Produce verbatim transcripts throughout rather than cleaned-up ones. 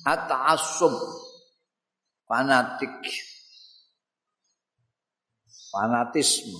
at-ta'assub fanatik fanatisme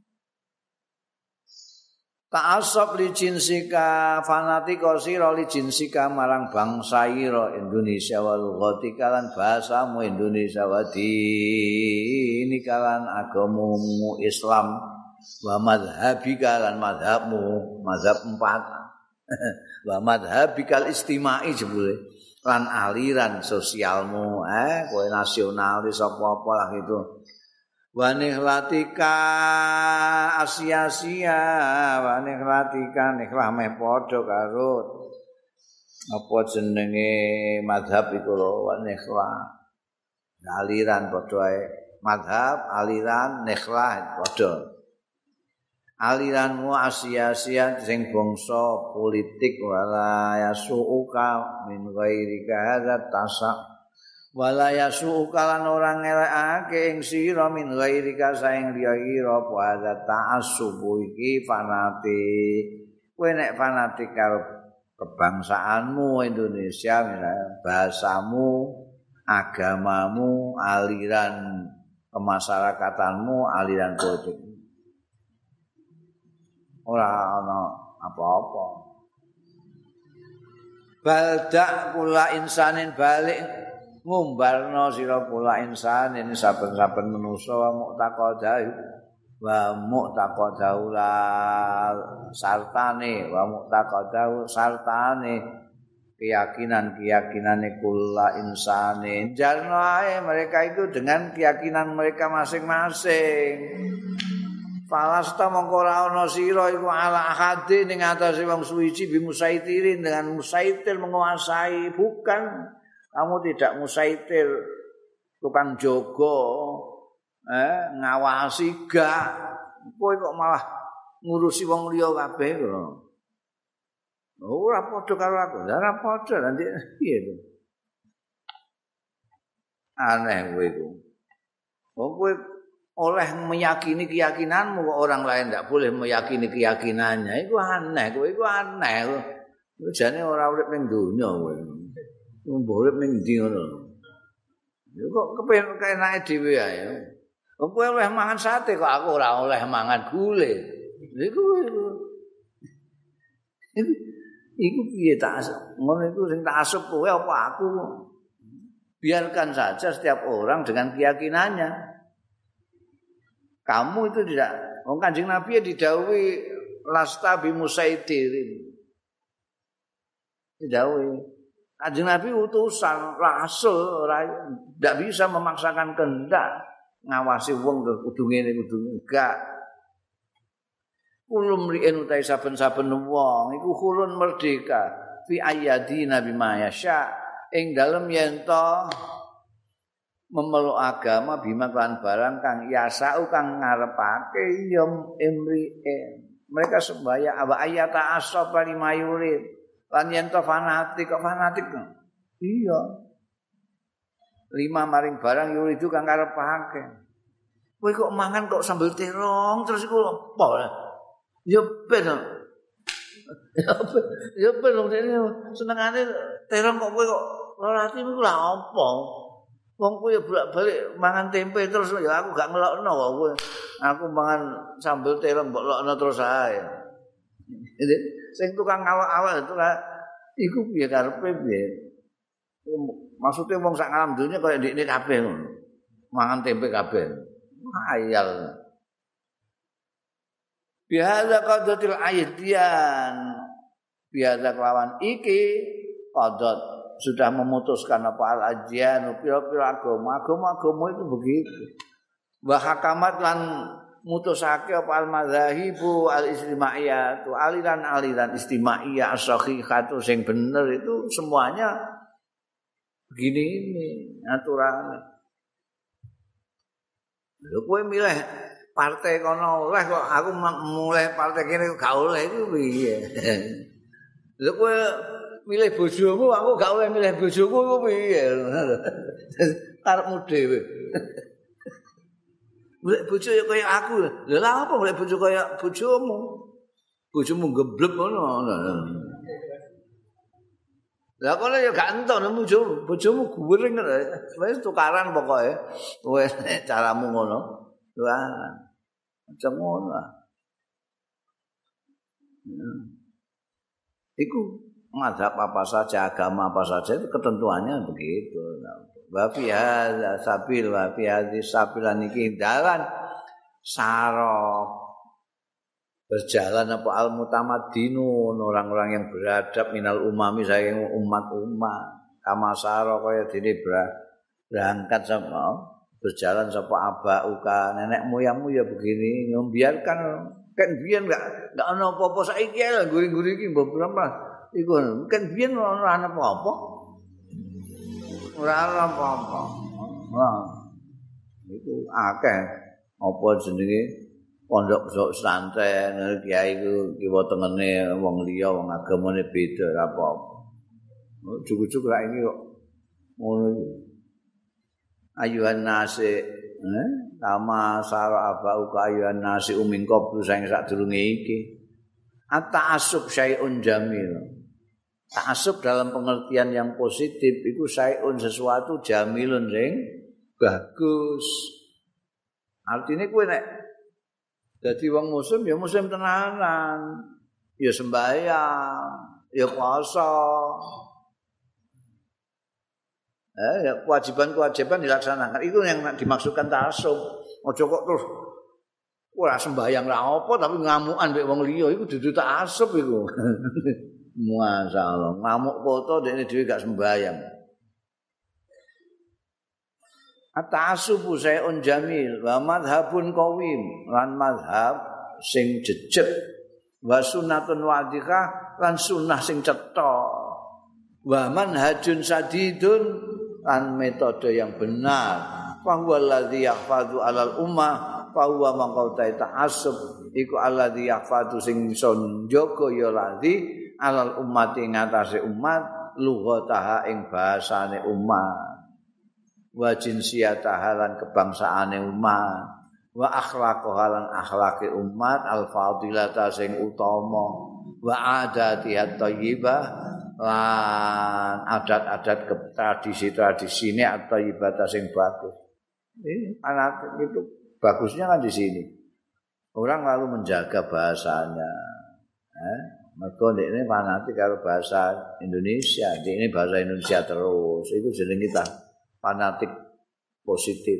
ta'assub li jinsika fanatiko sira li jinsika marang bangsa ira Indonesia wal lughati kalan bahasamu Indonesia wadi ini kalan agamamu Islam wa madhabika lan madhabmu madhab empat wa madhabikal istimai jebule lan aliran sosialmu eh kowe nasionalis apa-apa lah gitu wa nikhlatika asia-sia wa nikhlatika nikhlah meh padha karo apa jenenge madhab iku lho wa nikhlah aliran padha ae madhab aliran nikhlah padha aliranmu asia-asia sing bangsa politik wala yasuuka min ghairika hadza tasa wala yasuuka lan ora ngelekake ing sira min ghairika saing liya ira apa hadza ta'assub iki fanatik kowe nek fanatik karo kebangsaanmu Indonesia misalnya bahasamu agamamu aliran kemasyarakatanmu aliran politik ora ana apa-apa. Baldak kula insanin balik ngumbarno sira kula insanin saben-saben manusa wa muqtaqadahu wa muqtaqadahu sartane wa muqtaqadahu sartane keyakinan-keyakinane kula insanin jarno ae mereka itu dengan keyakinan mereka masing-masing. Falasta mongko ora ana sira iku ala ahadi ning atase wong suwiji bi musaitirin dengan musaitir menguasai bukan kamu tidak musaitir tukang jaga eh ngawasi gak kowe kok malah ngurusi wong liya kabeh lho ora padha karo aku ora padha nanti piye to aneh kowe iku wong kowe oleh meyakini keyakinanmu kok orang lain tidak boleh meyakini keyakinannya itu aneh kowe iku aneh kowe jane ora urip ning donya kowe mbok urip ning ndi ngono yo kok kepen kenake dhewe ae wong kowe oleh mangan sate kok aku ora oleh mangan gule iku iku piye tak ngono iku sing tak asup kowe apa aku biarkan saja setiap orang dengan keyakinannya. Kamu itu tidak, wong Kanjeng Nabi ya didhawuhi lasta bi musaidirin. Didhawuhi. Kanjeng Nabi utusan, rasul, tidak bisa memaksakan kehendak ngawasi wong kudu ngene kudu enggak. Kulum ri'en utai saben-saben wong iku khulun merdeka fi ayyadi nabi mayasya ing dalem yen to memeluk agama bima kan barang kang yasau kang ngarepake yom imri'in mereka sembaya aba ayata asaba limayurid lan yen to fanatik kok fanatik iya lima maring barang yuridu kang ngarepake kowe kok mangan kok sambel terong terus iku apa ya ben ya ben senengane terong kok kowe kok ora ati iku lha apa wong kowe bolak-balik mangan tempe terus ya aku gak ngelokno kok kowe. Aku mangan sambel terong mbok lokno terus ae. Sing tukang awak-awak itu lah iku piye karepe piye? Maksudnya wong sak alam dunya kaya ndekne kabeh ngono. Mangan tempe kabeh. Hayal. Biasa qadatil aidian. Biasa kelawan iki qadat sudah memutuskan apa al-ajian pira-pira agama agama-agama itu begitu wa hakamat lan mutusake apa al-madzahibu al-istimaiyah tu aliran-aliran istimaiyah as-sahihatu sing bener itu semuanya begini ini aturan lho kowe milih partai kono oleh kok aku mulai partai kene gak oleh iku piye lho kowe milih bojomu aku gak oleh milih bojoku ku piye karepmu dhewe golek bojo ya kaya aku lha lha apa golek bojo kaya bojomu bojomu geblek ngono Lah kono ya gak entuk bojomu, bojomu guring wis tukaran pokoke. Wis caramu ngono. Tukaran. Macam ngono. Iku mazhab apa saja, agama apa saja itu ketentuannya begitu. Wa fi hadza sabil wa fi hadzi sabilan iki dalan sarok berjalan apa al mutamaddinun orang-orang yang beradab minal umami saking umat-umat kama saro kaya dene berangkat sama berjalan sapa abauka nenek moyangmu ya begini membiarkan kan biyen enggak enggak ana apa-apa saiki lho guri-guri iki mbok berapa iku kan biyen ora ana apa-apa ora ana apa-apa wah iku akeh apa jenenge pondok pesantren kiai iku kiwa tengene wong liya wong agamane beda ora apa-apa. Cukup-cukup ra iki kok ngono iki. Ayuhan nasi eh kama sara abau ka ayuhan nasi uming qablu sing sadurunge iki. At-ta'assub syai'un jamil. Ta'assub dalam pengertian yang positif itu syai'un sesuatu jamilun sing bagus. Artinya kowe nek dadi wong muslim ya muslim tenanan, ya sembahyang, ya puasa. Eh, ya kewajiban-kewajiban dilaksanakan. Itu yang dimaksudkan ta'assub. Aja kok terus ora sembahyang ra apa tapi ngamukan mbek wong liya iku dudu ta'assub iku. Masyaallah, ngamuk foto dekne dhewe gak sembahyang. At-ta'assubu syai'un jamil wa madhhabun qawim lan madhab sing jejeg wa sunnatun wadhikah lan sunnah sing cetha wa manhajun sadidun lan metode yang benar fa huwa alladzi yahfadzu 'alal ummah fa huwa maqautai ta'assub iku alladzi yahfadzu sing iso njaga ya ladzi 'alal ummati ngatasé umat lughataha ing bahasane umat wa jinsiyataha lan kebangsaane umat wa akhlaqaha lan akhlaqe umat al fadilata sing utama wa adatiha thayyibah lan adat-adat tradisi-tradisine atau ibadah sing bagus. Ini anak itu bagusnya kan di sini. Orang lalu menjaga bahasanya. Eh, mergo ndekne fanatik karo bahasa Indonesia, ndekne bahasa Indonesia terus. Itu jeneng kita fanatik positif.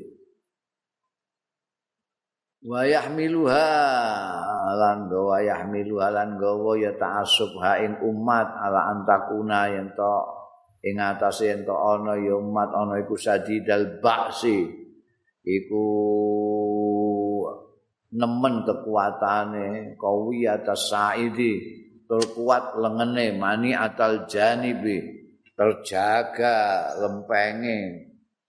Wa yahmiluha lan gawa yahmiluha lan gawa ya ta'assub ha ing umat ala antakuna yen to ing atase yen to ana ya umat ana iku sadidal ba'si iku nemen kekuatane kawi atas saidi tur kuat lengene mani atal janibi terjaga lempenge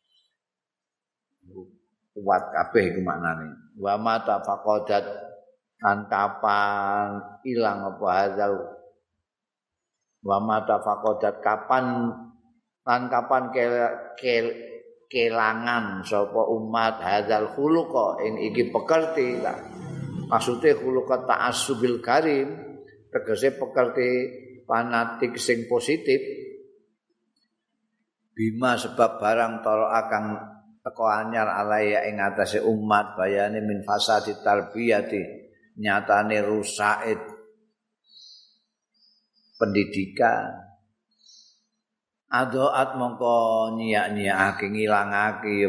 kuat kabeh iku maknane wa mata faqadat kan kapan ilang apa hadzal wa mata faqadat kapan lan kapan ke, ke, kelangan sapa umat hadzal khuluqa ing iki pekerti maksude khuluqa ta'assubil karim tegese pekerti fanatik sing positif bima sebab barang tara akan teko anyar alaya ing atase umat bayane min fasadi tarbiyati nyatane rusaid pendidikan adoat mongko nyiak-nyiakake ngilangake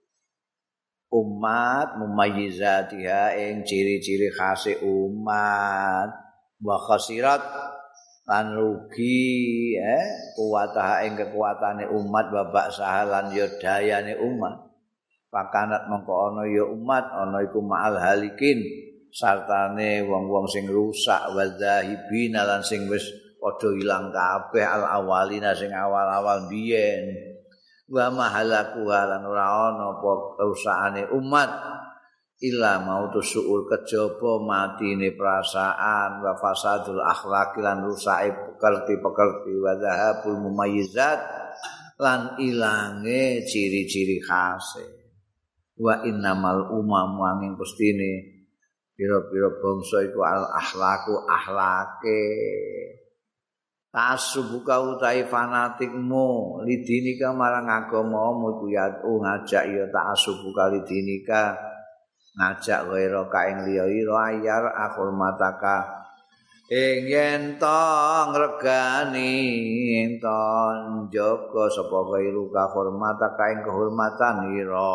umat mumayyizatiha ing ciri-ciri khase umat wa khasirat lan rugi eh kuwatah ing kekuatane umat babak sahalan ya dayane umat pakanat mongko ana ya umat ana iku ma'al halikin sartane wong-wong sing rusak wa zahibin lan sing wis padha ilang kabeh al awalina sing awal-awal biyen wa mahalaku lan ora ana apa kerusakane umat illa mautu suul kejaba matine perasaan wa fasadul akhlaq lan rusake pekerti-pekerti wa zahabul mumayyizat lan ilange ciri-ciri khase wa innamal umam angin pestine pira-pira bangsa iku al akhlaqu akhlake ta'assubuka utai fanatikmu lidinika marang agamamu iku ya ngajak ya ta'assubuka lidinika ngajak waira ka ing liya ira ayar akhurmataka ing yen to ngregani ing to njaga sapa kairu ka hormataka ing kehormatan ira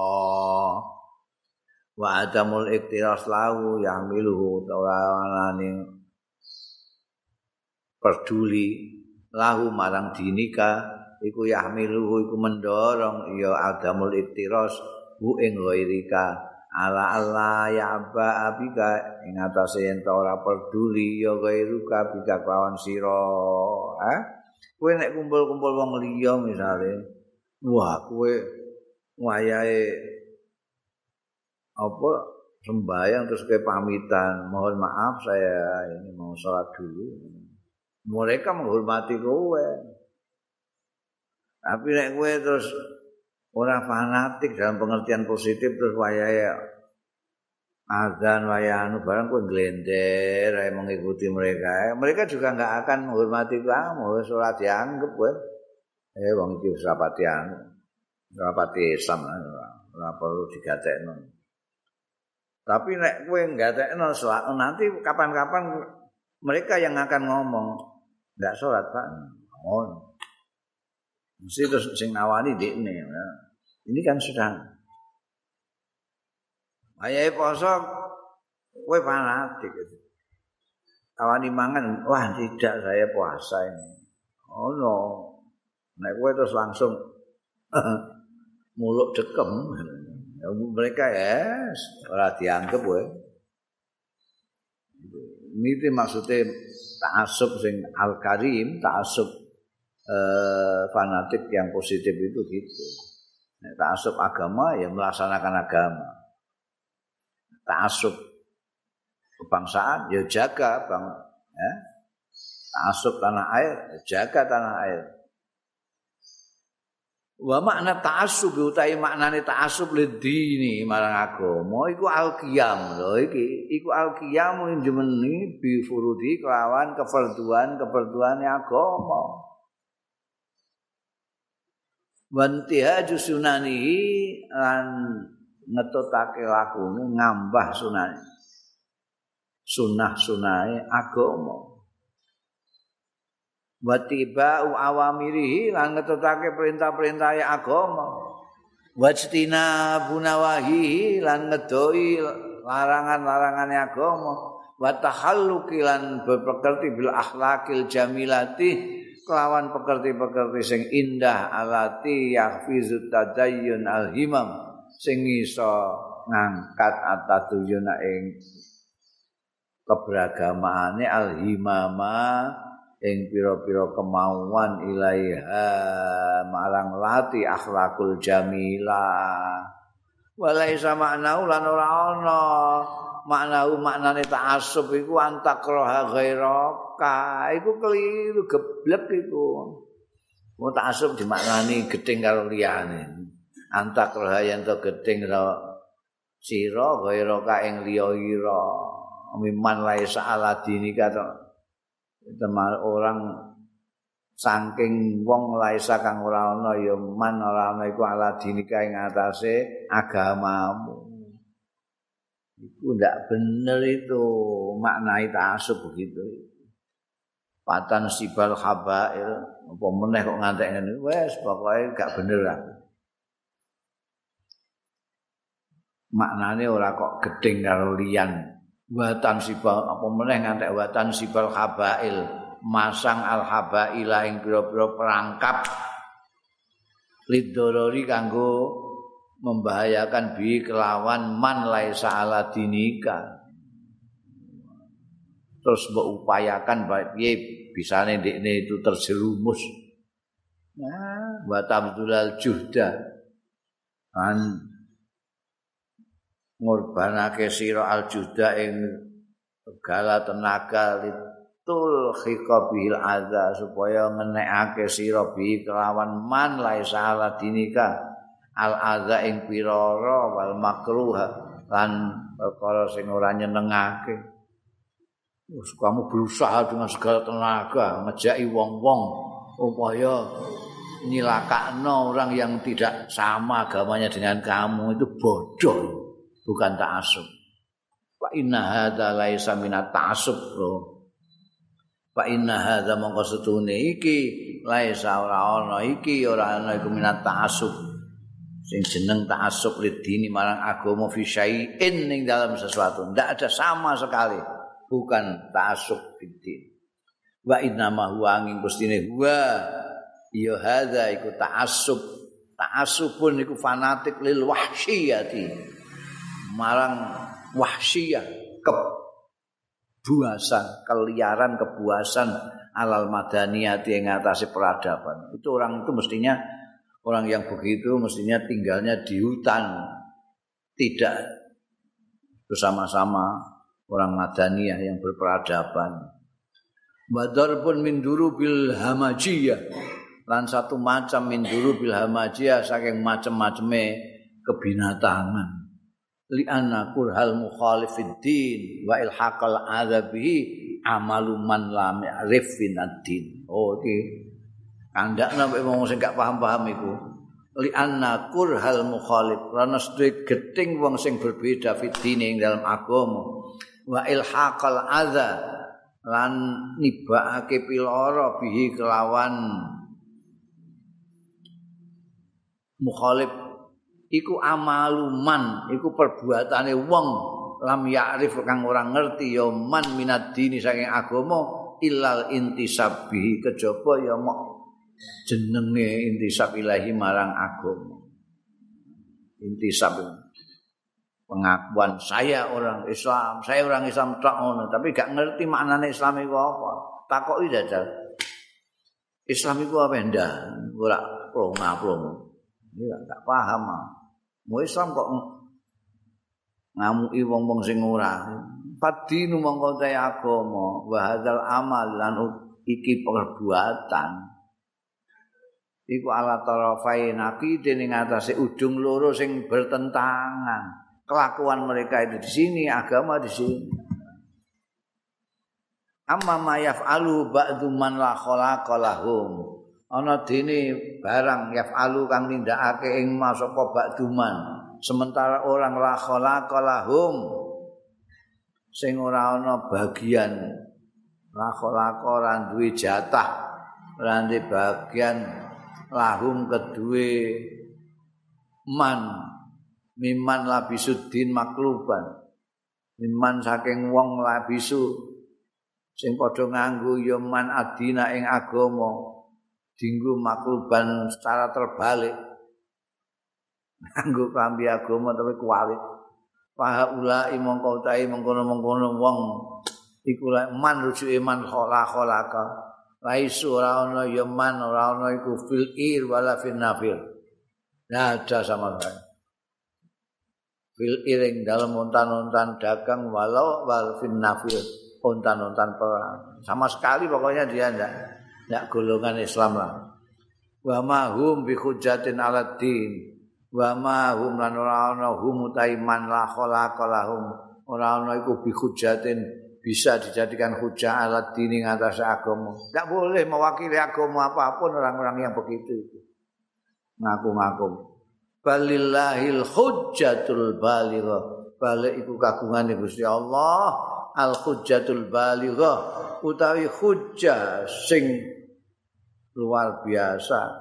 wa adamul iktiras lahu yang miluhu ora ning peduli lahu marang dinika iku yahmiluhu iku mendorong ya adamul iktiras hu ing ghairika ala Allah ya abba abika ing atase yen ora peduli ya gairuka bika kawan sira ha kowe nek kumpul-kumpul wong liya misale wah kowe wayahe apa sembahyang terus kowe pamitan mohon maaf saya ini mau salat dulu mereka menghormati kowe tapi nek kowe terus ora fanatik dalam pengertian positif terus wayahe azan wayanu barang kowe glender ae mengikuti mereka. Mereka juga enggak akan menghormati kamu, wis ora dianggep kowe. Eh wong iki wis rapati anu. Rapati Islam ora perlu digatekno. Tapi nek kowe nggatekno nanti kapan-kapan mereka yang akan ngomong enggak salat Pak. Oh. Mesti terus sing nawani dekne. Ya. Ini kan sudah ayahe poso kowe fanatik. Tawani mangan, wah tidak saya puasa ini. Oh no. Nek kowe terus langsung muluk dekem. Ya, mereka ya ora dianggep kowe. Ini maksudnya ta'assub sing al-karim, ta'assub Eh, fanatik yang positif itu gitu. Nah, ta'assub agama ya melaksanakan agama. Ta'assub kebangsaan ya jaga bang, ya. Ta'assub tanah air ya jaga tanah air. Wa makna ta'assub utahe maknane ta'assub lidini marang agama iku al-qiyam lho iki iku al-qiyam njemeni bi furudi kelawan kefarduan kefarduane agama. Wantihaju sunanihi lan ngetutake lakune ngambah sunane sunah-sunahe agama watiba'u awamirihi lan ngetutake perintah-perintahe agama wajtina bunawahi lan ngedoi larangan-larangane agama wa tahalluqi lan berpekerti bil akhlaqil jamilati kelawan pekerti-pekerti sing indah alati yahfizut tadayyun alhimam sing iso ngangkat ataduyuna ing keberagamaane alhimama ing pira-pira kemauan ilaiha marang lati akhlakul jamilah walaisa maknau lan ora ana maknau maknane ta'assub iku antakroha ghairaka iku keliru geblek iku mau ta'assub dimaknani gedeng karo liyane antakroha yen to gedeng karo sira ghairaka ing liya ira miman laisa ala dinika to teman orang saking wong laisa kang ora ana ya man ora ana iku ala dinika ing atase agamamu. Itu tidak benar itu maknai ta'assub begitu. Patan sibal habail apa meneh kok ngantek ngene wis pokoke gak bener lah. Maknane ora kok gedeng karo liyan. Watan sibal apa meneh ngantek watan sibal habail masang al habaila ing pira-pira perangkap lidorori kanggo membahayakan bi kelawan man laisa ala dinika terus mbok upayakan piye bisane ndekne itu terjerumus nah wa tabdulal juhda an ngorbanake sira al juhda ing segala tenaga litul khiqabil adza supaya ngenekake sira bi kelawan man laisa ala dinika al adza ing pirara wal makruh lan perkara sing ora nyenengake Terus kamu berusaha dengan segala tenaga ngejaki wong-wong supaya nyilakakno orang yang tidak sama agamanya dengan kamu, itu bodoh, bukan ta'assub. Fa inna hadza laisa minat ta'assub. Fa inna hadza mongko setune iki laisa ora ana iki ora ana iku minat ta'assub. Sing jeneng ta'assub lidini marang agama fi syai'in ning dalam sesuatu, ndak ada sama sekali. Bukan ta'assub fiddin. Wa inna ma huwa angin gustine huwa ya hadza iku ta'assub. Ta'assubun iku fanatik lil wahsyiyati. Marang wahsyiyah, kebuasan, keliaran kebuasan alal madaniyati yang ngatasi peradaban. Itu orang itu mestinya orang yang begitu mestinya tinggalnya di hutan, tidak bersama-sama orang madaniyah yang berperadaban. Badar pun min durubil hamajiyah, lan satu macam min durubil hamajiyah saking macam-macame kebinatangan. Li anna kurhal mukhalifid din wa ilhaqal adzabihi amalu man lam ya'rif ad-din. Oh iki kandakna mek wong sing gak paham-paham iku. Li anna kurhal mukhalif, karena sedhik geting wong sing berbeda fitine ing dalam agama. Wa ilhaqal adza lan nibakake piloro bihi kelawan mukhalif iku amaluman, iku perbuatane wong lam ya'rif kang ora ngerti ya man minad dini saking agama illal intisabihi, kejaba ya mok jenenge intisab ilahi marang agama. Intisab pengakuan saya orang Islam, saya orang Islam tok ngono, tapi gak ngerti maknane Islam iku apa. Takoki jajal. Islam iku apa ndak? Ora plong-plong. Ya gak paham. Mau Islam kok ngamuki wong-wong sing ora. Padinu mongko te agama, wa hadzal amal lan iki perbuatan. Iku ala tarafain aqide ning atase ujung loro sing bertentangan. Kelakuan mereka itu di sini, agama di sini. Amma ma yaf'alu ba'du man la khalaqa lahum. Ana dene barang yaf'alu kang nindakake ing masapa ba'du man. Sementara orang la khalaqa lahum sing ora ana bagian, la khalaqa ora duwe jatah, ora duwe bagian lahum kedue man miman labisuddin makluban, miman saking wong labisu sing padha nganggo ya man adina ing agama dinggo makluban secara terbalik, nganggo klambi agama tapi kuwalik. Fahaula mongko utahe mengkono-mengkono wong iku man rujuke man khala khalaka laisu ora ana ya man ora ana iku fil ir wala fil nafil, ndak ada sama sekali. Fil iring dalam untan-untan dagang walau wal fin nafil, untan-untan perang sama sekali, pokoknya dia ndak ndak golongan Islam lah. Wa ma hum bi hujjatin ala din wa ma hum lan ora ana hum utaiman la khalaqa lahum, ora ana iku bi hujjatin bisa dijadikan hujjah ala din ing atas agama. Ndak boleh mewakili agama apapun orang-orang yang begitu itu. Ngaku-ngaku balillahil hujjatul balighah, balik iku kagungane Gusti Allah, al hujjatul balighah utawi hujjah sing luar biasa,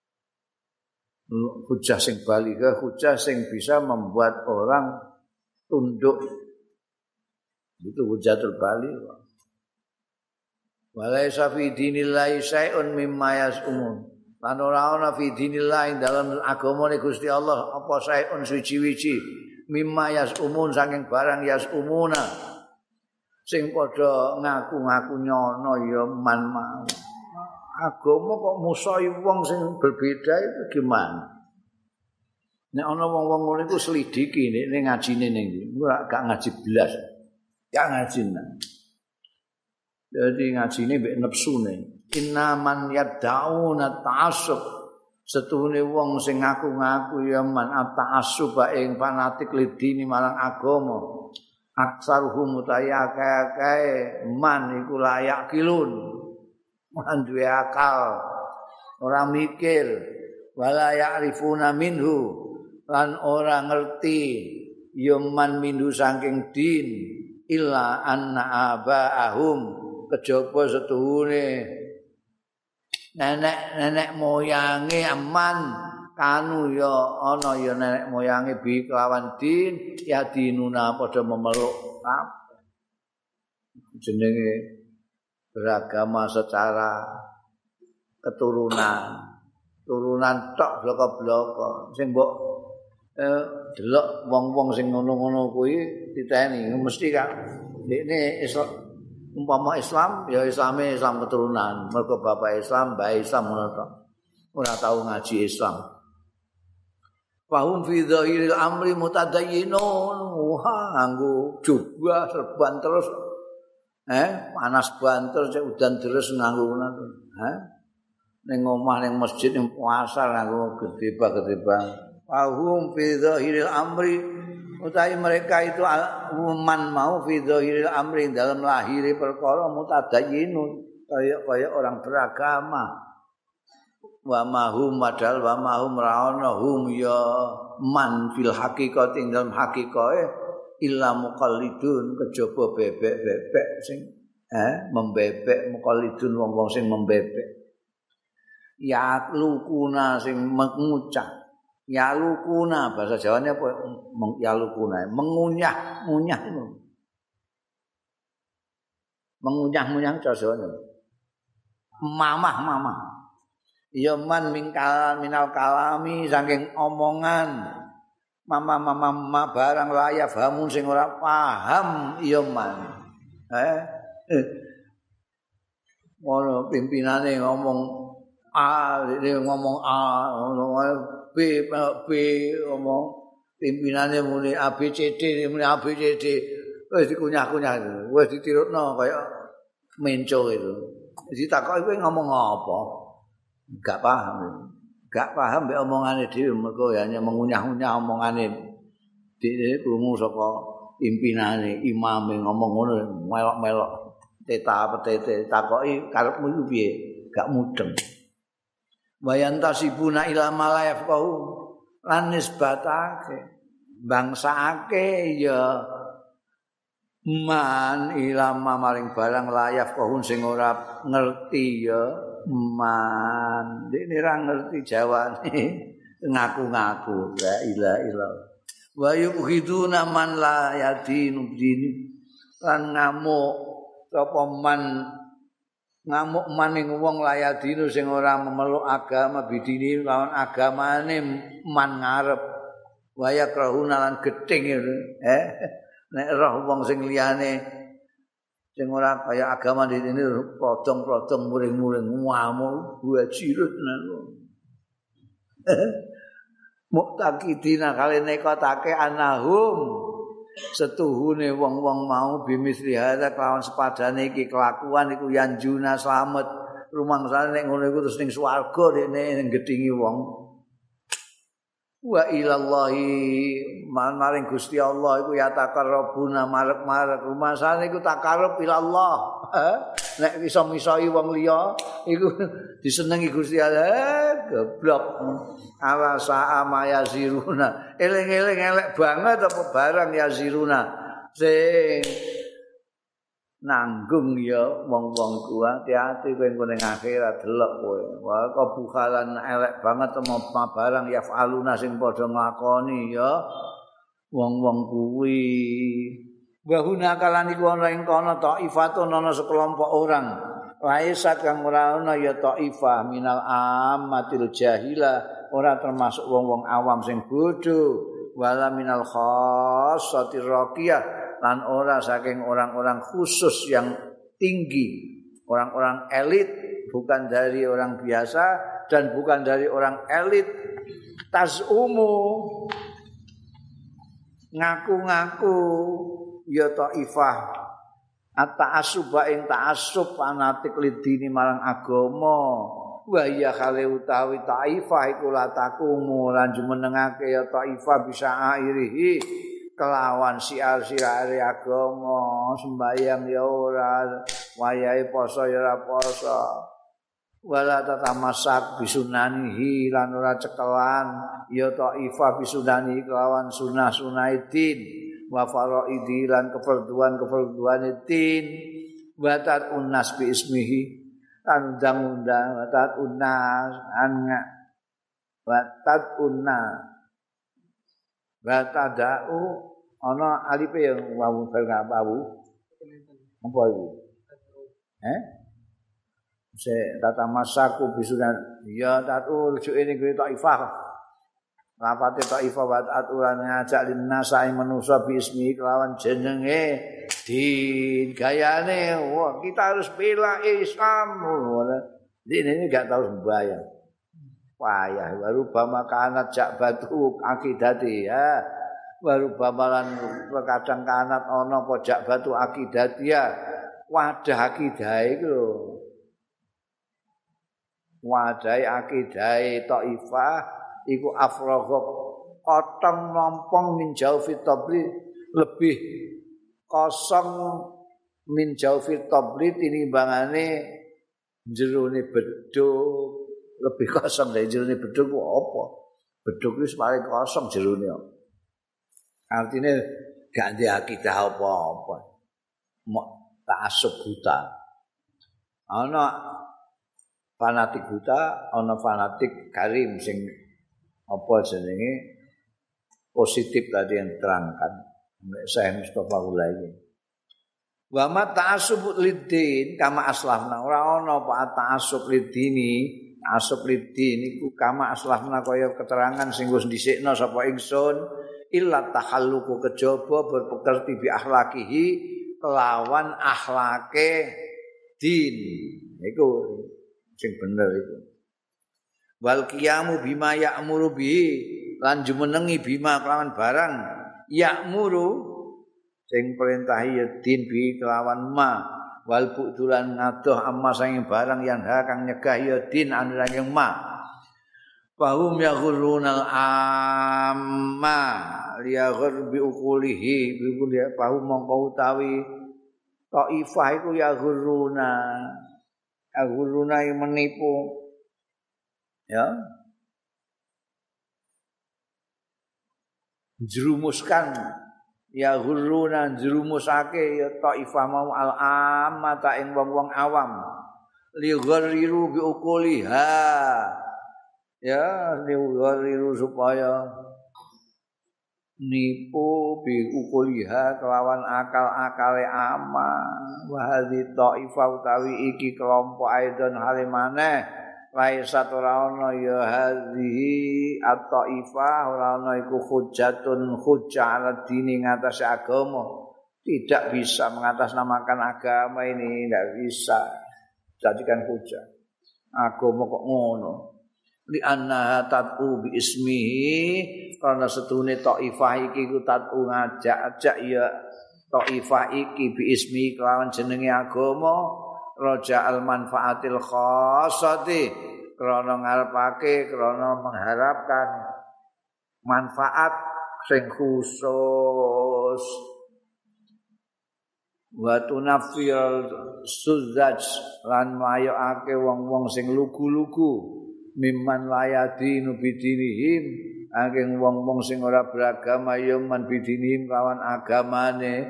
hujjah sing balighah, hujjah sing bisa membuat orang tunduk, itu hujjatul balighah. Walaisa fi dinillahi syai'un mimma yas'umun, lan ora ana fi dinillah dalam agamane Gusti Allah apa saeun suci-wici mimma yasumun saking barang yasumuna sing padha ngaku-ngaku nyono ya man mau. Agama kok musuhi wong sing berbeda itu gimana? Nek ana wong-wong ngono iku selidiki nek ngajine ning iki, ora gak ngaji blas. Gak ngaji nang. Jadi ngajine mbek nepsune. Inna man yad'una ta'assub, setuhune wong sing ngaku-ngaku ya man ta'assub ing fanatik lidini marang agama aksaruhum utayakae man iku layak kilun man duwe akal ora mikir wala ya'rifuna minhu lan ora ngerti ya man minhu saking din illa anna abaahum kejaba setuhune nenek-nenek moyange aman kanu ya ana ya nenek moyange bi kelawan din ya dinuna padha memeluk kabeh jenenge beragama secara keturunan turunan tok bloko-bloko sing mbok eh, delok wong-wong sing ngono-ngono kuwi diteni mesti kan dekne Islam umpama Islam ya Islame Islam keturunan mergo bapak Islam mbah Islam ngono tok ora tau ngaji Islam. Fahum fi dhahiril amri mutadayyinun. Wah, nganggo jubah serban terus. Eh, panas banter cek udan deres nganggo ngono. Heh. Ning omah ning masjid ning puasa nganggo gedebak-gedebak. Fahum fi dhahiril amri utawi mereka itu man mau fi dhahiril amri dalam lahiri perkara mutadayyinun kaya-kaya orang beragama. Wa mahum padahal wa mahum raana hum ya man fil haqiqati ing dalam hakikae illa muqallidun kejaba bebek-bebek sing eh membebek muqallidun wong-wong sing membebek ya lukuna sing mengucap ya lukuna bahasa Jawane apa ya lukuna mengunyah ngunyah itu mengunyah-ngunyah cara Jawane mamah-mamah ya man mingkal minal kalami saking omongan mama-mama mama barang layak fahamun sing ora paham ya man eh ngono pimpinane ngomong A dia ngomong A ngono B B ngomong pimpinane muni A B C D muni A B C D wis dikunyah-kunyah wis ditirutno kaya menco itu ditakoki kowe ngomong apa enggak paham. Enggak paham mbek omongane dhewe mergo hanya mengunyah-unyah omongane dhewe krungu saka pimpinane imame ngomong ngono melok-melok teta petete takoki karepmu iku piye? Gak mudeng. Wayantasibuna ila malayaf kau lan nisbatake bangsake ya man ilama maring barang layaf kau sing ora ngerti ya man dene ra ngerti jawane ngaku-ngaku la ilaha illallah wa yukhiduna man la yadinu dini lan ngamuk sapa man ngamuk maning wong la yadinu sing ora memeluk agama bidini lawan agamane man ngarep wa yakrahuna lan gething eh nek roh wong sing liyane sing ora kaya agama di ini prodong-prodong muring-muring ngamuk wajirut nang muktakidina kali nekotake anahum setuhune wong-wong mau bimisri hadza kelawan sepadane iki kelakuan iku yanjuna slamet rumangsane nek ngono iku terus ning swarga dekne ning gedhingi wong wa ilallahi maring Gusti Allah iku ya takarrabuna marep-marep rumasane iku takarrub ilallah nek iso misoi wong liya iku disenengi Gusti Allah goblok ala saa mayaziruna eling-eling elek banget apa barang yaziruna sing nanggung ya wong-wong ku hati-hati kowe engko ning akhirat delok kowe wa kebukalan elek banget apa barang yafaluna sing padha nglakoni ya wong-wong kuwi bahuna kalan iku ana ing kono taifatun ana sekelompok orang laisa kang ora ana ya taifah minal ammatil jahila ora termasuk wong-wong awam sing bodho wala minal khassatir raqiyah lan ora saking orang-orang khusus yang tinggi, orang-orang elit, bukan dari orang biasa dan bukan dari orang elit. Tazumu ngaku-ngaku ya taifah at-ta'assuba ing ta'assub fanatik lidini marang agama. Wa ya khale utawi taifah iku la takumu lan jumenengake ya taifah bisa airihi kelawan siar-siar agama sembayang ya ora wayahe poso ya ora poso wala tatamasak bisunanihi lan ora cekelan ya taifah bisunani kelawan sunah-sunah din wa faraidi lan keperduan-keperduan din wa tat unnas bi ismihi lan undang-undang wa tat unnas an wa tat unnas wa tadau ana alife yang wawu bal wawu apa iku eh se tata masaku bisunan ya tatu rujuk ini kuwi taifah rapate taifah wa aturan ngajak linasa ing manusa bi ismi kelawan jenenge din gayane wah kita harus bela Islam ini enggak tahu sembahyang wayah baru bama kanat jak batu akidati ya baru bamalan kadang kanat ana apa jak batu akidati ya wadah akidah iku lho wadai akidai taifah iku afragha kotong nompong min jaufi tabli lebih kosong min jaufi tabli tinimbangane jerone beduk lebih kosong dari jerone beduk ku apa beduk wis paling kosong jerone artinya gak ndek akidah apa-apa mok ta'assub buta ana fanatik buta, ana fanatik karim sing apa jenenge positif tadi yang terangkan. Saya Mustafa Ulaiki. Wa ma ta'assub liddin kama aslafna ora ana apa ta'assub liddini, ta'assub liddin iku kama aslafna kaya keterangan sing wis dhisikna sapa ingsun illa takhalluqu kejaba berpekerti bi akhlakihi kelawan akhlake din. Iku sing bener iku. Wal qiyamu bima ya'muru bihi lan jumenengi bima kelawan barang ya'muru sing perintahi ya din bi kelawan ma wal budulan ngadoh amma sing barang yang ha kang nyegah ya din anira yang ma. Fahum yaghurunal amma liyaghur bi uqulihi bi kulli fahum mongko utawi taifah iku yaghuruna aguruna yang menipu ya jerumuskan ya guruna jerumusake ya taifah mau al amata ing wong-wong awam li ghariru bi uquliha ya li ghariru supaya nipu bi ukuliha kelawan akal-akale ama wa hadhi taifah utawi iki kelompok aidon halimane laisat ora ana ya hadhi at-taifah ora ana iku hujjatun hujjah ala dini ngatas agama tidak bisa mengatasnamakan agama ini tidak bisa jadikan hujjah agama kok ngono li annaha tad'u bi ismihi karena setune taifah iki ku tad'u ngajak-ajak ya taifah iki bi ismi kelawan jenenge agama raja al manfaatil khassati krana ngarepake krana mengharapkan manfaat sing khusus wa tunafil suzaj lan mayokake wong-wong sing lugu-lugu mimman layadinu bidinihim angin wong-wong sing ora beragama ya man bidinihim lawan agamane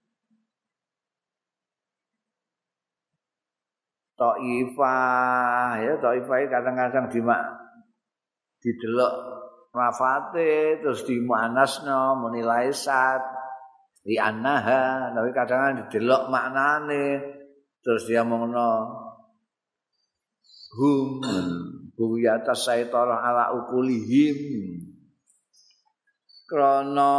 taifah ya taifah kadang-kadang dimak didelok rafate terus dimanasno menilai sat li annaha tapi kadang-kadang didelok maknane terus dia mengno hum buyata saitara ala ukulihim krana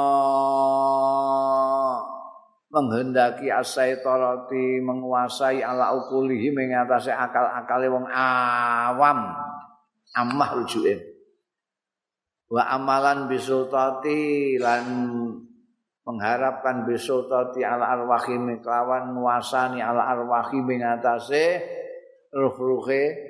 menghendaki asaitarati menguasai ala ukulihim ing atase akal-akale wong awam amah rujuke wa amalan bisultati lan mengharapkan bisultati ala arwahim kelawan nguasani ala arwahim ing atase ruh-ruhe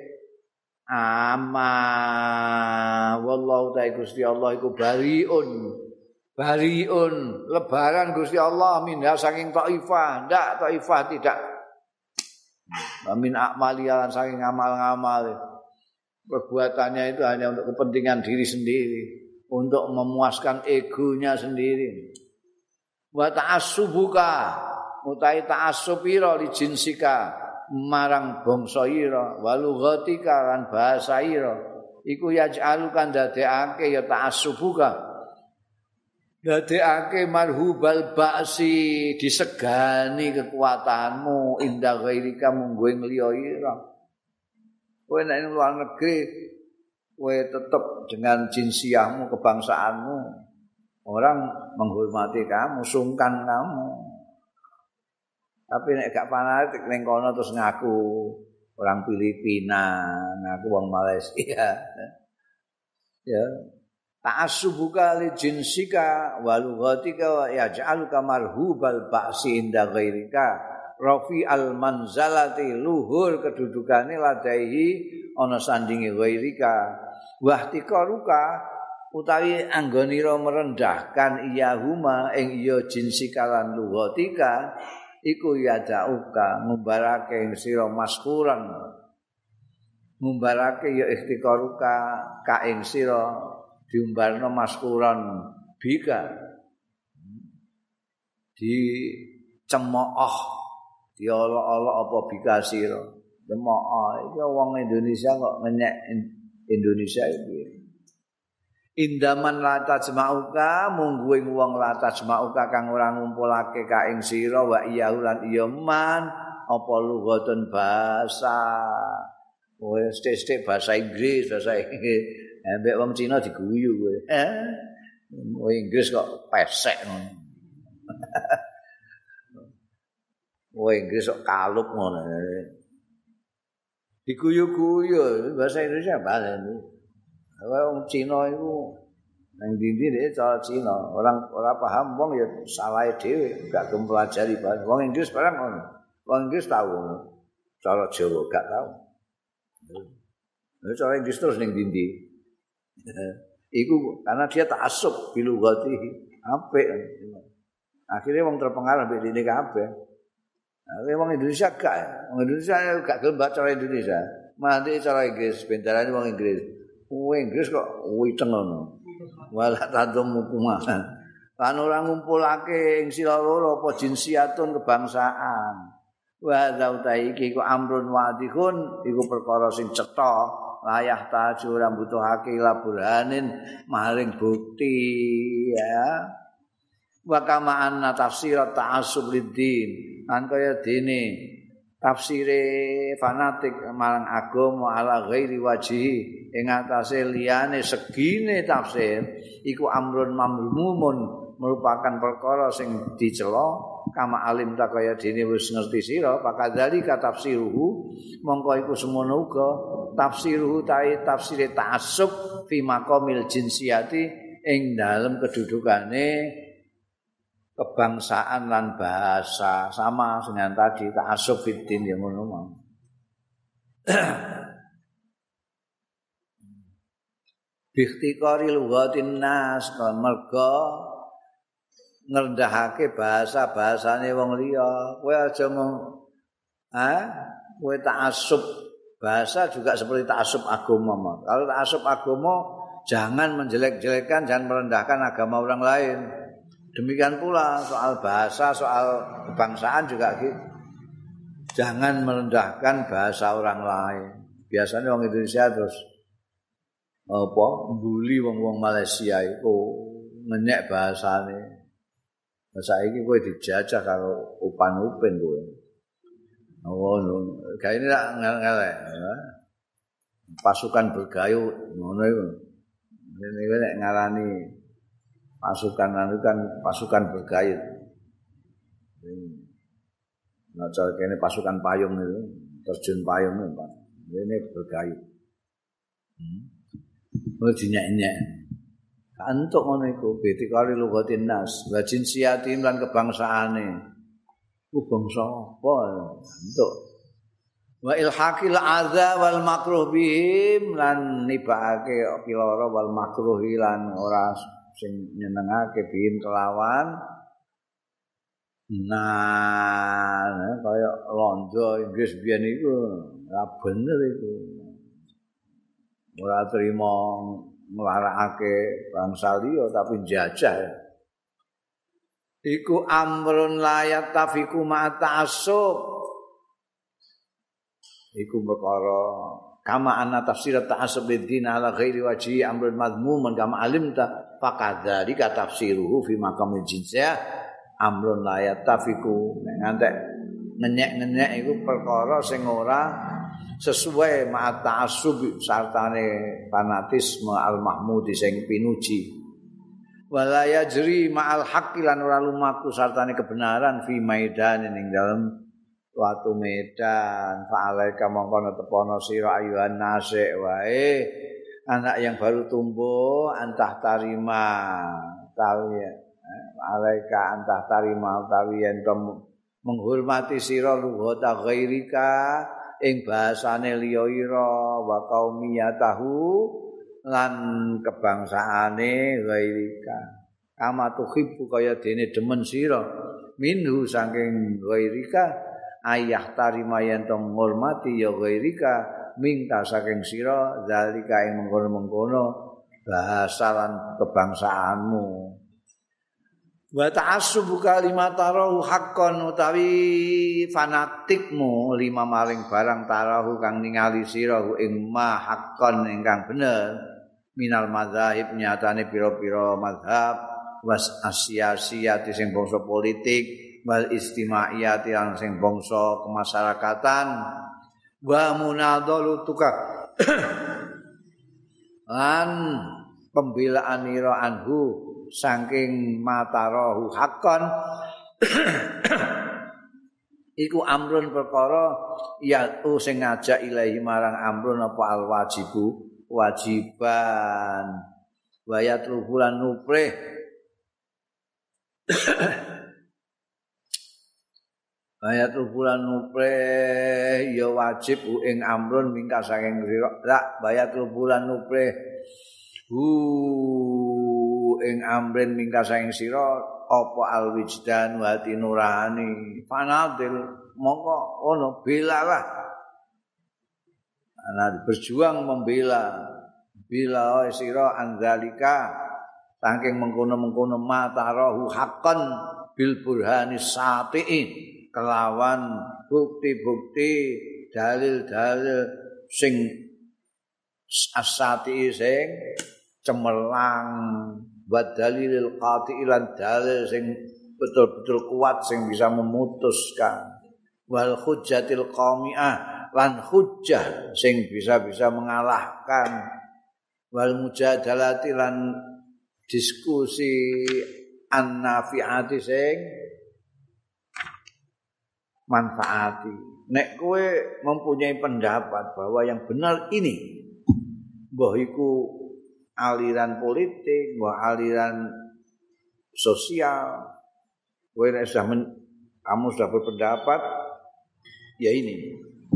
ama wallahu ta'ala Gusti Allah iku bariun bariun lebaran Gusti Allah minha saking Taifah ndak Taifah tidak min akmalian saking amal-amal perbuatannya itu hanya untuk kepentingan diri sendiri untuk memuaskan egonya sendiri wa ta'assubuka utai ta'assub ira li jinsika marang bangsa ira walughatika lan bahasa ira iku yaj'alukan dadekake ya ta'assubuka dadekake marhubal ba'si disegani kekuatanmu indah ghairika munggo ing liya ira kowe nek ing luar negeri kowe tetep dengan jinsiahmu kebangsaanmu orang menghormati kamu sungkan kamu. Tapi nek gak fanatik ning kono terus ngaku orang Filipina, ngaku wong Malaysia. Ya. Ta'assubuka li jinsika wa lughatika wa yaj'aluka marhubal ba'si inda ghairika. Rafi al manzalati luhur kedudukane ladaihi ana sandinge ghairika. Wahtikaruka utawi anggonira merendahkan iyahuma ing iya jinsika lan lughatika. Iku yadauka ngumbarake ing sira maskuran ngumbarake ya iftikaruka ka ing sira diumbarno maskuran bika di cemooh diolok-olok apa bika sira cemooh iki wong Indonesia kok ngenyek Indonesia iki indaman la tajma'uka mungguing wong la tajma'uka kang ora ngumpulake ka ing sira wa iyahu lan iya man apa lughatun bahasa wis sithik bahasa Inggris bahasa Inggris ambek wong Cina diguyu kowe eh wong Inggris kok pesek ngono wong Inggris kok kalup ngono diguyu-guyu bahasa Indonesia bahasa wong Cina iku nang ndi dhek cara Cina, orang ora paham wong ya salahe dhewe, gak mempelajari bahasa. Wong Inggris barang ngono. Wong Inggris tahu cara Jawa gak tahu. Lha cara Inggris terus ning ndi. Iku karena dia ta'assub bilugati apik. Akhirnya wong terpengaruh mbek dene kabeh. Nah, wong Indonesia gak, wong Indonesia gak gelem baca cara Indonesia. Mandi cara Inggris, bentarane wong Inggris. Wong Inggris kok witeng ngono. Wala tadum hukumah. Lan ora ngumpulake ing sira loro apa jinsiatun kebangsaan. Wa zautai iki ku amrun wadihun iku perkara sing cetha layah taju ora butuhake laburhanin maring bukti ya. Wa kama anna tafsir ta'assub liddin. Lan kaya dene tafsire fanatik marang agama ala ghairi wajhi ing atase liyane segine tafsir iku amrun mamlumun merupakan perkara sing dicela kama alim ta kaya dene wis ngerti sira pakadzalika tafsiruhu mongko iku semono uga tafsiruhu ta'i tafsire ta'assub fi maqamil jinsiyati ing dalem kedudukane kebangsaan lan bahasa sama dengan tadi ta'assub fiddin yang ngono mau. Biktikari lughatin nas kon merga ngrendahake bahasa-bahasane wong liya. Kowe aja mau ha, kowe ta'assub bahasa juga seperti ta'assub agama. Kalau ta'assub agama jangan menjelek-jelekkan, jangan merendahkan agama orang lain. Demikian pula soal bahasa, soal kebangsaan juga gitu. Jangan merendahkan bahasa orang lain. Biasanya orang Indonesia terus apa mbuli wong-wong Malaysia itu ngenyek bahasane. Bahasa iki kowe dijajah karo upan-upin kowe. Oh, kayak ini tak ngelek. Pasukan bergayut ngono iku. Ini nek ngarani pasukan itu kan pasukan bergayut. Nah, cara kene pasukan payung itu, terjun payung itu, Pak. Ini bergayut. Hmm. Mulai dinyak-nyak. Kantuk ngono iku, bitikari lughatin nas, wa jinsiyatin lan kebangsaane. Ku bangsa apa? Kantuk. Wa ilhaqil adza wal makruh bihim lan nibake piloro wal makruh lan ora sing nyenengake bihim kelawan nah kaya londo Inggris biyen iku ora bener iku ora trima nglarakake bangsa liya tapi njajah iku amrun layat tafiku ma ta'assub iku perkara kama anna tafsir ta'assub bid-din ala ghairi wajhi amrun madhmuman kama alimta faqadzalika tafsiruhu fi maqamil jinsiyah amrun layat tafiku ngantek ngenyek-ngenyek iku perkara sing ora sesuai ma'at ta'assub sartane fanatisme al-mahmudi sing pinuji wala yajri ma'al haqqi lan ora lumaku sartane kebenaran fi maidan ning dalem suatu medan fa'alaika mongko tepono sira ayuhan nasik wae anak yang baru tumbuh antah tarima tawi alaika antah tarima tawi yen menghormati sira lughata ghairika ing bahasane liya ira wa qaumiyatahu lan kebangsaane ghairika kama tuhibbu kaya dene demen sira minhu saking ghairika ayah tarima yen to ngurmati ya ghairika minta saking sira zalika ing mengkono-mengkono bahasa lan kebangsaanmu wa ta'assubu kalimat tarahu haqqan utawi fanatikmu lima maring barang tarahu kang ningali sira ing ma haqqan ingkang bener minal madzhab nyatane pira-pira mazhab was asyasiyati sing bangsa politik wal istimaiyati sing bangsa kemasyarakatan wa munadhalu tuka lan pembelaan ira anhu saking matarahu hakon iku amrun perkara ya sing ngajak ilahi marang amrun apa al wajibu wajiban wayat rubulan nuprih wayat rubulan nuprih ya wajib ing amrun mingka saking sira lak wayat rubulan nuprih hu ing amrin mingka saing sira apa alwijdan wa hati nurani fanadil mongko ono belalah ana berjuang membela bila sira anzalika saking mengkono-mengkono matarahu haqqan bil burhani sati'i kelawan bukti-bukti dalil-dalil sing asati sing cemerlang wa dalilil qati lan dalil sing betul-betul kuat sing bisa memutuskan wal hujjatil qami'ah lan hujjah sing bisa-bisa mengalahkan wal mujadalati lan diskusi an-nafi'ati sing manfaati nek kowe mempunyai pendapat bahwa yang benar ini mbah iku aliran politik, mbah aliran sosial. Kowe nek sudah men, kamu sudah berpendapat ya ini.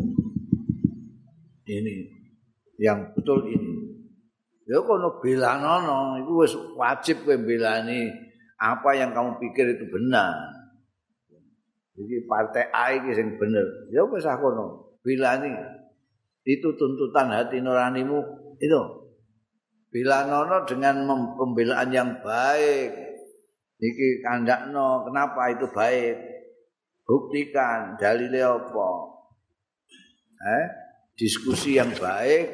Ini yang betul ini. Ya kono belanono iku wis wajib kowe belani apa yang kamu pikir itu benar. Jadi partai A iki sing bener. Ya wis kono belani. Itu tuntutan hati nuranimu itu. Bilanono dengan pembelaan yang baik. Iki kandakno, kenapa itu baik? Buktikan dalile apa? Eh, diskusi yang baik.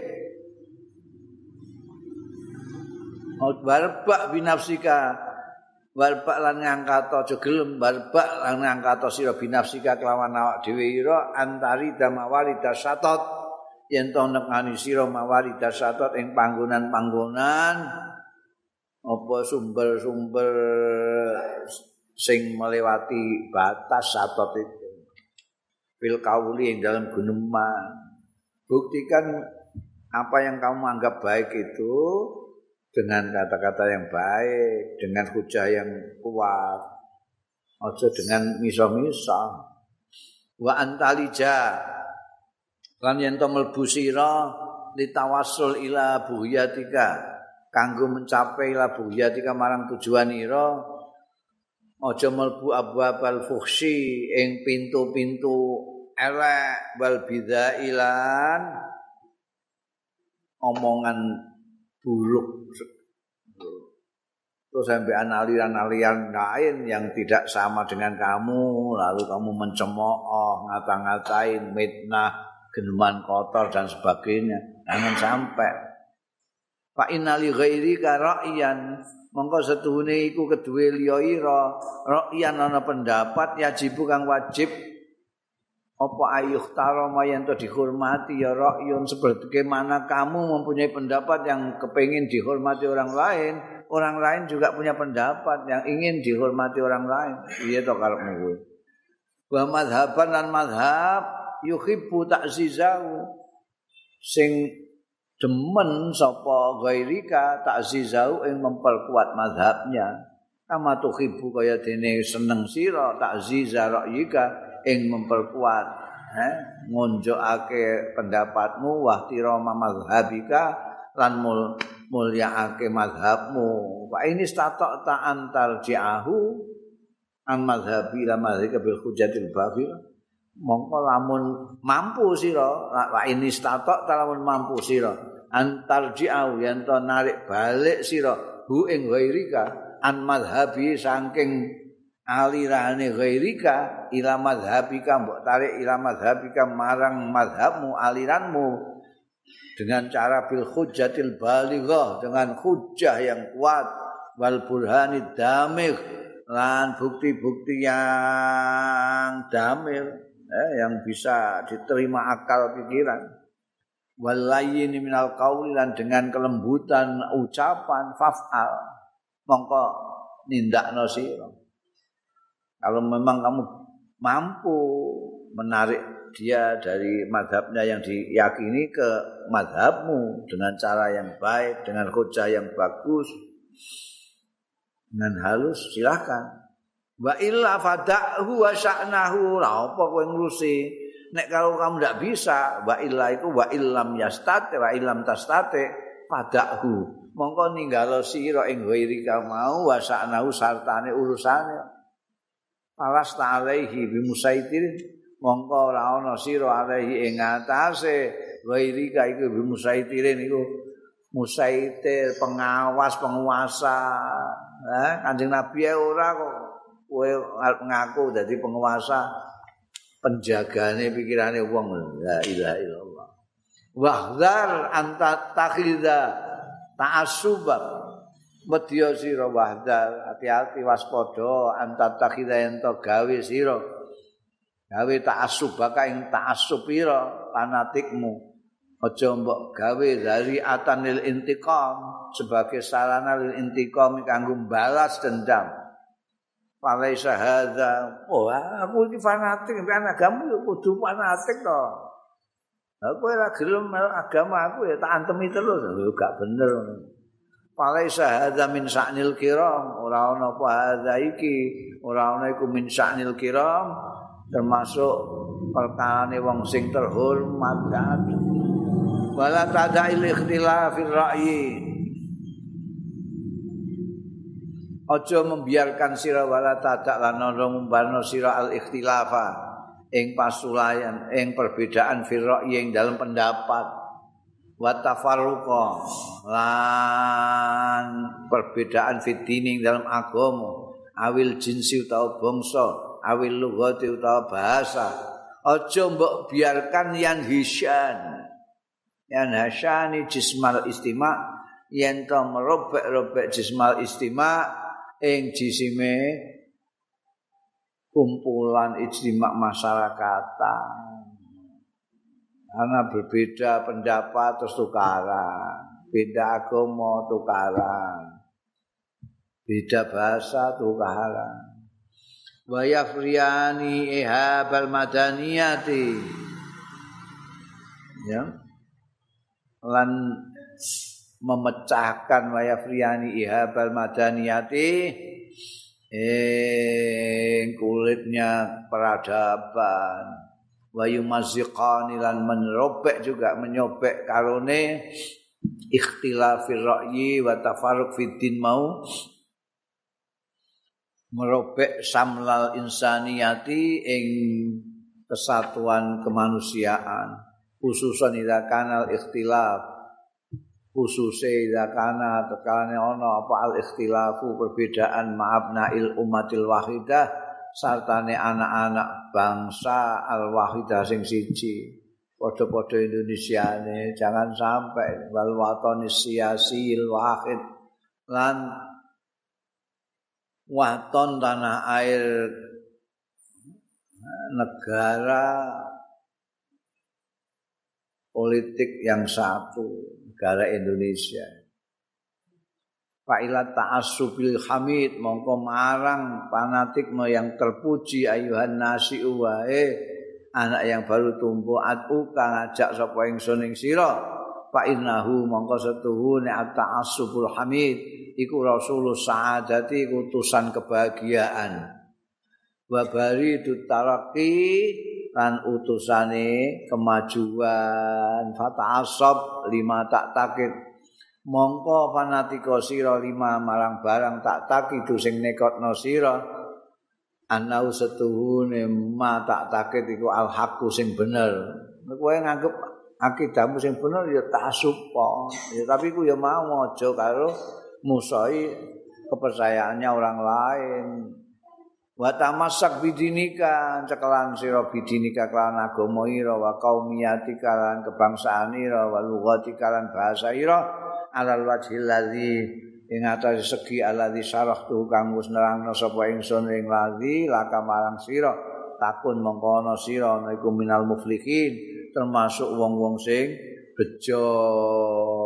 Barbak binafsika, barbak lan ngangkat aja gelem, barbak lan ngangkat sira binafsika kelawan awak dhewe ira antari damawali dasatot. Yen to nekani sira mawari dasatot ing panggonan-panggonan apa sumber-sumber sing melewati batas satot itu fil kauli ing dalam guneman buktikan apa yang kamu anggap baik itu dengan kata-kata yang baik dengan hujah yang kuat aja dengan misa-misa wa antalija lan yen to mlebu sira ditawassul ila buhyatika kanggo mencapai labuyatika marang tujuan ira aja mlebu abwabal fuhsi ing pintu-pintu elek wal bidzailan omongan buruk terus sampai aliran-aliran lain yang tidak sama dengan kamu lalu kamu mencemooh ngata-ngatain mitnah geneman kotor dan sebagainya jangan sampai fa innali ghairika ra'yan mongko setuhune iku keduwe liya ira ra'yan ana pendapat yajibu kang wajib apa ayuh tarama yang to dihormati ya ra'yun seperti mana kamu mempunyai pendapat yang kepengin dihormati orang lain orang lain juga punya pendapat yang ingin dihormati orang lain iya to karepmu kuwi wa madhaban lan madhab yuhibbu ta'zizahu sing demen sapa ghairika ta'zizahu ing memperkuat madhabnya kama tuhibbu kaya dene seneng sira ta'ziza ra'yika ing memperkuat eh ngonjokake pendapatmu wahtirama madhabika lan mul, mulyaake madhabmu wa ini stata ta antar ji'ahu an madhabi la madhika bil hujatil babil mongko lamun mampu sira wa ini stata ta lamun mampu sira antar ji'ahu yen to narik balik sira hu ing ghairika an madhabi saking alirane ghairika ila madhabika mbok tarik ila madhabika marang madhabmu aliranmu dengan cara bil hujjatil balighah dengan hujjah yang kuat wal burhanid damigh lan bukti-bukti yang damir eh, yang bisa diterima akal pikiran wal layyin minal qauli lan dengan kelembutan ucapan faf'al mongko nindakno sira kalau memang kamu mampu menarik dia dari madhabnya yang diyakini ke madhabmu dengan cara yang baik, dengan hujah yang bagus, dengan halus, silakan. Wa illa fada'hu wa sya'nahu, lah apa kowe ngurusi? Nek kalau kamu tidak bisa, wa illa itu wa illam yastate, wa illam tastate, fada'hu. Mongko ninggalo sira ing ghairika mau wa sya'nahu sartane urusane. Alas ta'alaihi bimusaitir mongko ora ana sira alaihi ing atase ghairika iku bimusaitirin iku musaitir pengawas penguasa eh Kanjeng Nabi ora kok kowe ngaku dadi penguasa penjagane pikirane wong la ilaha illallah wahdar anta takhidha ta'assubah Medya sira wahdal hati-hati waspada antat takhidha ento gawe sira gawe ta'assubaka ing ta'assub ira fanatikmu aja mbok gawe dari atanil intiqam sebagai sarana lil intiqam kanggo balas dendam falaisa hadza oh aku iki fanatik mbek agamamu kudu fanatik to aku ora gelem agama aku ya tak antemi terus gak bener Falaisa hadza min sa'nil kiram ora ana apa hadza iki ora ana iku min sa'nil kiram termasuk perkarane wong sing terhormat kan wala tada'il ikhtilafir ra'yi aja membiarkan sira wala tadak lan ngumbarno sira al ikhtilafa ing pasulayan ing perbedaan fir ra'yi ing dalam pendapat wa tafarruqa lan perbedaan fitining dalam agama awil jinsi utawa bangsa awil lughati utawa bahasa aja mbok biarkan yang hisyan yang hasyani jismal istima yen to merobek-robek jismal istima ing jisime kumpulan ijtima masyarakatan karena berbeda pendapat terus tukaran, beda agama tukaran, beda bahasa tukaran. Wa yafriyani ihabal madaniyati, ya, lan memecahkan wa yafriyani ihabal madaniyati, eh kulitnya peradaban. Wa yumaziqani lan menrobek juga menyobek karone ikhtilafir ra'yi wa tafarruq fid din mau merobek samlal insaniyati ing kesatuan kemanusiaan khususan ida kanal ikhtilaf khususe ida kana tekane ana apa al ikhtilafu perbedaan ma'abnail umatil wahidah sartane anak-anak bangsa al wahidah sing siji padha-padha Indonesiane jangan sampai wal watani siyasil wahid lan waton tanah air negara politik yang satu negara Indonesia. Fa'ilat ta'assubil hamid mongko marang fanatikme yang terpuji ayuhan nasi'u wae anak yang baru tumbuh atu kang ngajak sapa ingsun ing sira fa innahu mongko setuhune at-ta'assubul hamid iku rasulus sa'adati utusan kebahagiaan wa baridut taraqi lan utusane kemajuan fata'assab lima tak takit mongko fanatika sira lima marang barang tak takidu sing nekotno sira anau setuhune ma tak takit iku al haqqu sing bener kowe nganggep akidahmu sing bener ya ta'assub ya tapi ku ya mau aja karo musahi kepercayaannya orang lain wa tamassak bidinika cekelan sira bidinika kelan agama ira wa qaumiyatika lan kebangsaan ira wa lughatika lan bahasa ira alal wajhil ladzi ing atase segi alladzi syarahtu kang wis nerangno sapa ingsun ing ladzi laka marang sira takun mongko ana sira iku minal muflihin termasuk wong-wong sing bejo